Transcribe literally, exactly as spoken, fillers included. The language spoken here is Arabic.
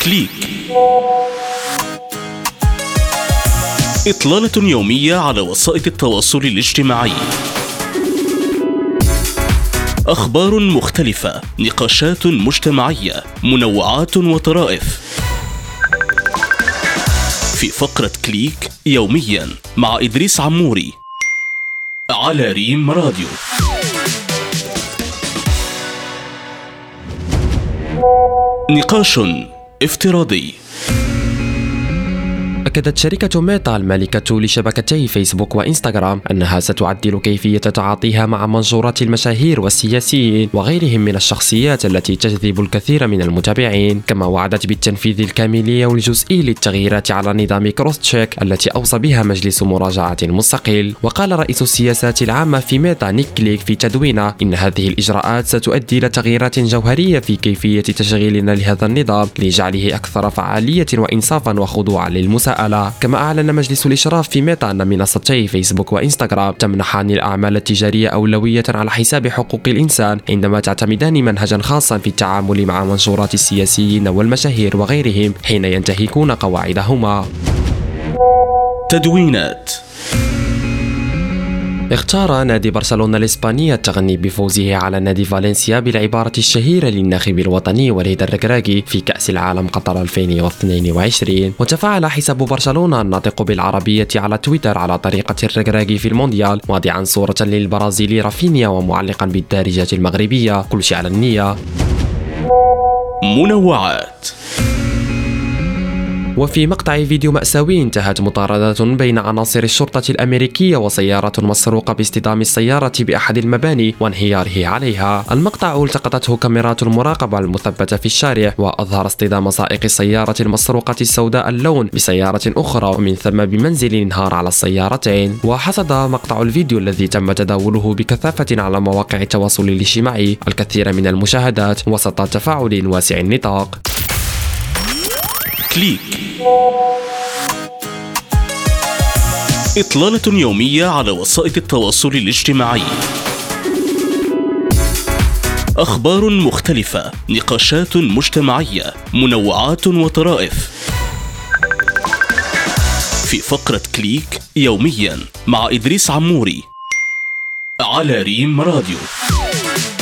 كليك. إطلالة يومية على وسائل التواصل الاجتماعي. أخبار مختلفة، نقاشات مجتمعية، منوعات وطرائف. في فقرة كليك يوميا مع إدريس عموري على ريم راديو. نقاش افتراضي. أكدت شركة ميتا المالكة لشبكتي فيسبوك وإنستغرام أنها ستعدل كيفية تعاطيها مع منشورات المشاهير والسياسيين وغيرهم من الشخصيات التي تجذب الكثير من المتابعين، كما وعدت بالتنفيذ الكامل والجزئي للتغييرات على نظام كروس تشيك التي أوصى بها مجلس مراجعة مستقل. وقال رئيس السياسات العامة في ميتا نيك كليك في تدوينه إن هذه الإجراءات ستؤدي إلى تغييرات جوهرية في كيفية تشغيلنا لهذا النظام لجعله أكثر فعالية وإنصافا وخضوعا للمساءلة. كما أعلن مجلس الإشراف في ميتا أن منصتي فيسبوك وإنستغرام تمنحان الأعمال التجارية أولوية على حساب حقوق الإنسان، عندما تعتمدان منهجا خاصا في التعامل مع منشورات السياسيين والمشاهير وغيرهم حين ينتهكون قواعدهما. تدوينات. اختار نادي برشلونة الإسباني التغني بفوزه على نادي فالنسيا بالعبارة الشهيرة للناخب الوطني وليد الركراكي في كأس العالم قطر ألفين واثنين وعشرين. وتفاعل حساب برشلونة الناطق بالعربية على تويتر على طريقة الركراكي في المونديال، واضعا صورة للبرازيلي رافينيا ومعلقا بالدارجات المغربية كل شيء على النية. منوعات. وفي مقطع فيديو مأساوي انتهت مطاردة بين عناصر الشرطة الأمريكية وسيارة مسروقة باصطدام السيارة بأحد المباني وانهياره عليها. المقطع التقطته كاميرات المراقبة المثبتة في الشارع، وأظهر اصطدام سائق السيارة المسروقة السوداء اللون بسيارة أخرى، ومن ثم بمنزل انهار على السيارتين. وحصد مقطع الفيديو الذي تم تداوله بكثافة على مواقع التواصل الاجتماعي الكثير من المشاهدات وسط تفاعل واسع النطاق. كليك. إطلالة يومية على وسائل التواصل الاجتماعي. أخبار مختلفة، نقاشات مجتمعية، منوعات وطرائف. في فقرة كليك يوميا مع إدريس عموري على ريم راديو.